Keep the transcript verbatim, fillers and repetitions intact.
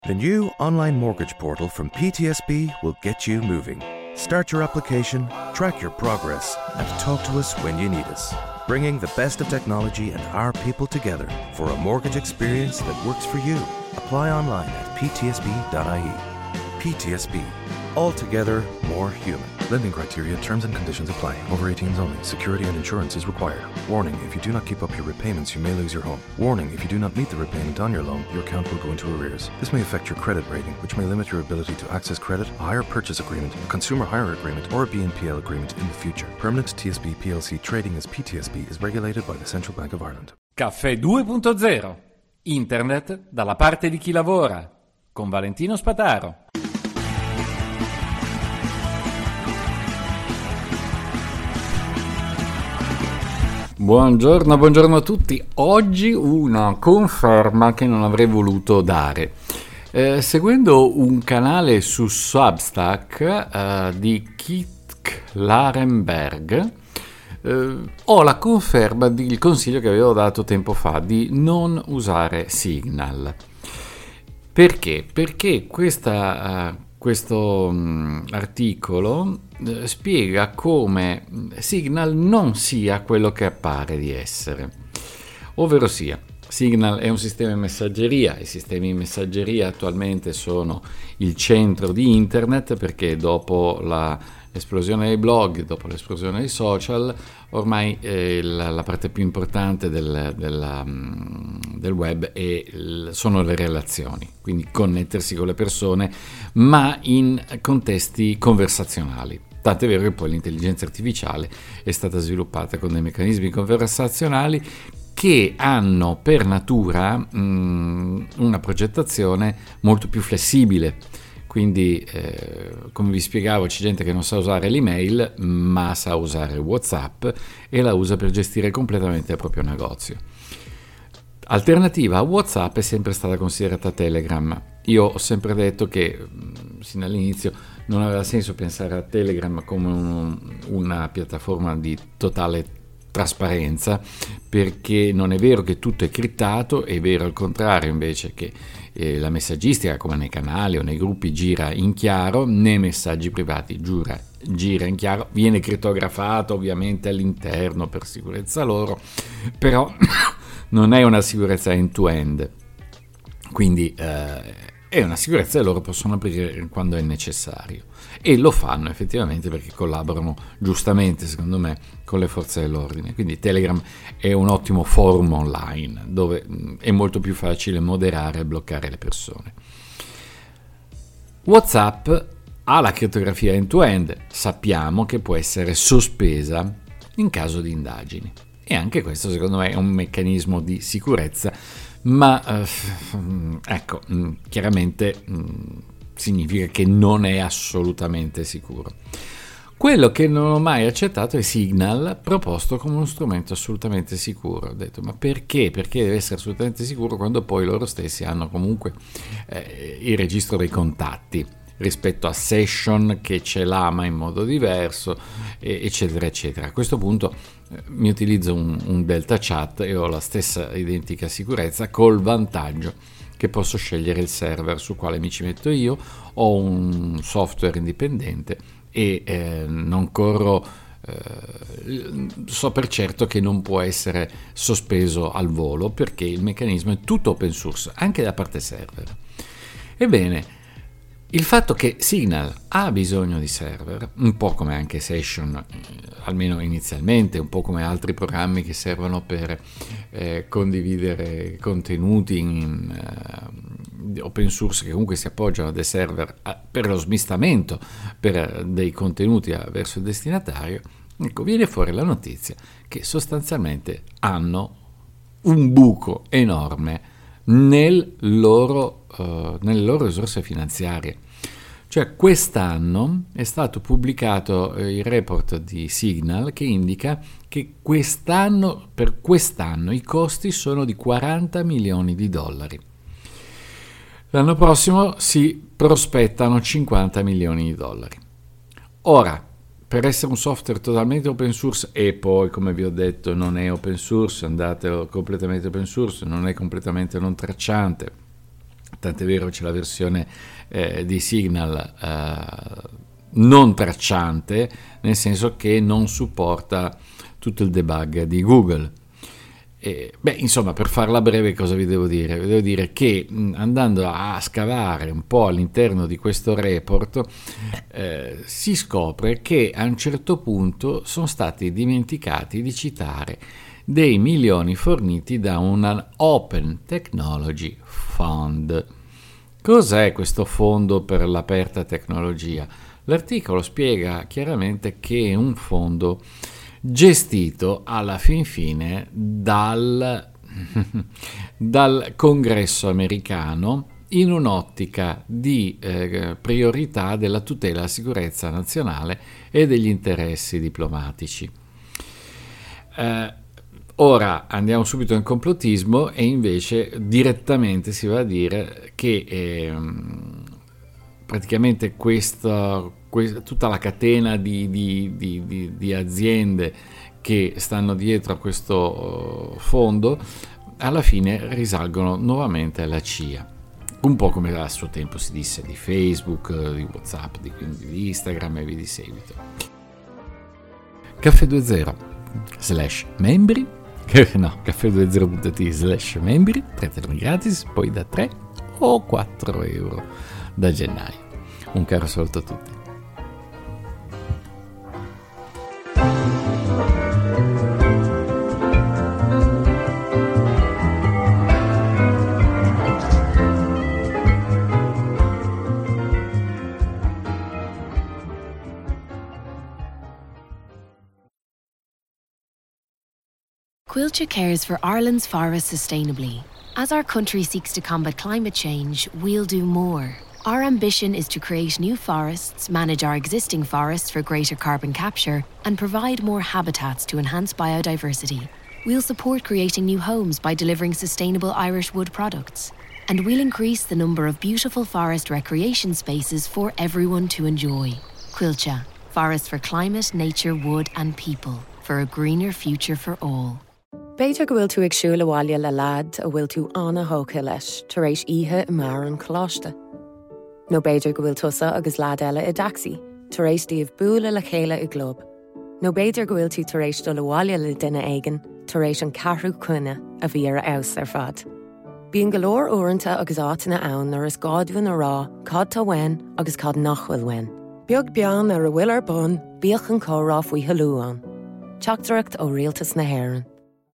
The new online mortgage portal from P T S B will get you moving. Start your application, track your progress, and talk to us when you need us. Bringing the best of technology and our people together for a mortgage experience that works for you. Apply online at p t s b dot i e. P T S B. Altogether more human. Lending criteria, terms and conditions apply. Over eighteens only. Security and insurance is required. Warning, if you do not keep up your repayments, you may lose your home. Warning, if you do not meet the repayment on your loan, your account will go into arrears. This may affect your credit rating, which may limit your ability to access credit, a hire purchase agreement, a consumer hire agreement, or a B N P L agreement in the future. Permanent T S B P L C trading as P T S B is regulated by the Central Bank of Ireland. Caffè due punto zero. Internet dalla parte di chi lavora. Con Valentino Spataro. Buongiorno, buongiorno a tutti. Oggi una conferma che non avrei voluto dare. Eh, seguendo un canale su Substack eh, di Kit Klarenberg, eh, ho la conferma del consiglio che avevo dato tempo fa di non usare Signal. Perché? Perché questa... Uh, Questo um, articolo eh, spiega come Signal non sia quello che appare di essere, ovvero sia Signal è un sistema di messaggeria. I sistemi di messaggeria attualmente sono il centro di internet, perché dopo la, l'esplosione dei blog, dopo l'esplosione dei social, ormai eh, la, la parte più importante del, della, del web è il, sono le relazioni, quindi connettersi con le persone, ma in contesti conversazionali. Tanto è vero che poi l'intelligenza artificiale è stata sviluppata con dei meccanismi conversazionali che hanno per natura mh, una progettazione molto più flessibile. Quindi, eh, come vi spiegavo, c'è gente che non sa usare l'email, ma sa usare WhatsApp e la usa per gestire completamente il proprio negozio. Alternativa a WhatsApp è sempre stata considerata Telegram. Io ho sempre detto che, sin dall'inizio, non aveva senso pensare a Telegram come un, una piattaforma di totale trasparenza, perché non è vero che tutto è criptato, è vero al contrario invece che eh, la messaggistica, come nei canali o nei gruppi, gira in chiaro, nei messaggi privati giura, gira in chiaro, viene crittografato ovviamente all'interno per sicurezza loro, però non è una sicurezza end-to-end, quindi eh, è una sicurezza che loro possono aprire quando è necessario, e lo fanno effettivamente perché collaborano giustamente, secondo me, con le forze dell'ordine. Quindi Telegram è un ottimo forum online dove è molto più facile moderare e bloccare le persone. WhatsApp ha la crittografia end-to-end, sappiamo che può essere sospesa in caso di indagini, e anche questo secondo me è un meccanismo di sicurezza, ma eh, ecco, chiaramente mh, significa che non è assolutamente sicuro. Quello che non ho mai accettato è Signal, proposto come uno strumento assolutamente sicuro. Ho detto, ma perché? Perché deve essere assolutamente sicuro quando poi loro stessi hanno comunque eh, il registro dei contatti, rispetto a Session che ce l'ha ma in modo diverso, eccetera eccetera. A questo punto eh, mi utilizzo un, un Delta Chat e ho la stessa identica sicurezza, col vantaggio che posso scegliere il server sul quale mi ci metto io, ho un software indipendente e eh, non corro, eh, so per certo che non può essere sospeso al volo, perché il meccanismo è tutto open source, anche da parte server. Ebbene, il fatto che Signal ha bisogno di server, un po' come anche Session, almeno inizialmente, un po' come altri programmi che servono per eh, condividere contenuti in eh, open source, che comunque si appoggiano a dei server a, per lo smistamento per dei contenuti verso il destinatario, ecco, viene fuori la notizia che sostanzialmente hanno un buco enorme nel loro, uh, nelle loro risorse finanziarie. Cioè, quest'anno è stato pubblicato eh, il report di Signal che indica che quest'anno, per quest'anno i costi sono di quaranta milioni di dollari. L'anno prossimo si prospettano cinquanta milioni di dollari. Ora, per essere un software totalmente open source, e poi, come vi ho detto, non è open source, andate completamente open source, non è completamente non tracciante, tant'è vero c'è la versione eh, di Signal eh, non tracciante, nel senso che non supporta tutto il debug di Google. E, beh, insomma, per farla breve, cosa vi devo dire? Vi devo dire che mh, andando a scavare un po' all'interno di questo report eh, si scopre che a un certo punto sono stati dimenticati di citare dei milioni forniti da un Open Technology Fund. Cos'è questo fondo per l'aperta tecnologia? L'articolo spiega chiaramente che è un fondo gestito alla fin fine dal, dal Congresso americano in un'ottica di eh, priorità della tutela della sicurezza nazionale e degli interessi diplomatici. Eh, ora andiamo subito in complottismo e invece direttamente si va a dire che eh, praticamente questa, questa, tutta la catena di, di, di, di, di aziende che stanno dietro a questo fondo alla fine risalgono nuovamente alla C I A, un po' come a suo tempo si disse di Facebook, di WhatsApp, di, di Instagram e via di seguito. Caffè due zero slash membri no, caffè due zero punto it slash membri, tre termini gratis, poi da tre o quattro euro da gennaio. Un caro saluto a tutti. Quilcha cares for Ireland's forests sustainably. As our country seeks to combat climate change, we'll do more. Our ambition is to create new forests, manage our existing forests for greater carbon capture, and provide more habitats to enhance biodiversity. We'll support creating new homes by delivering sustainable Irish wood products. And we'll increase the number of beautiful forest recreation spaces for everyone to enjoy. Quilcha, forests for climate, nature, wood and people. For a greener future for all. Beidir go bhfuil tú ag siúl abhaile le lad a bhfuil tú anna hóca leis tar éis ihe i mar an chláiste. No beidir go bhfuil tusa agus lad eile i daxi tar éis díobh búla le chéile i glob. No beidir go bhfuil tú tar éis do le bhaile le duine aigen tar éis an carthú cuine a bhí ar aus ar fad. Bíon go leor uaireanta agus átainna ann ar is gáidbhain a rá cad tá wein agus cad nachhfuil wein. Beag bean ar a bhfuil ar bun bíoch an córá faoi halúán. Teachtareacht ó Rialtas na Héireann.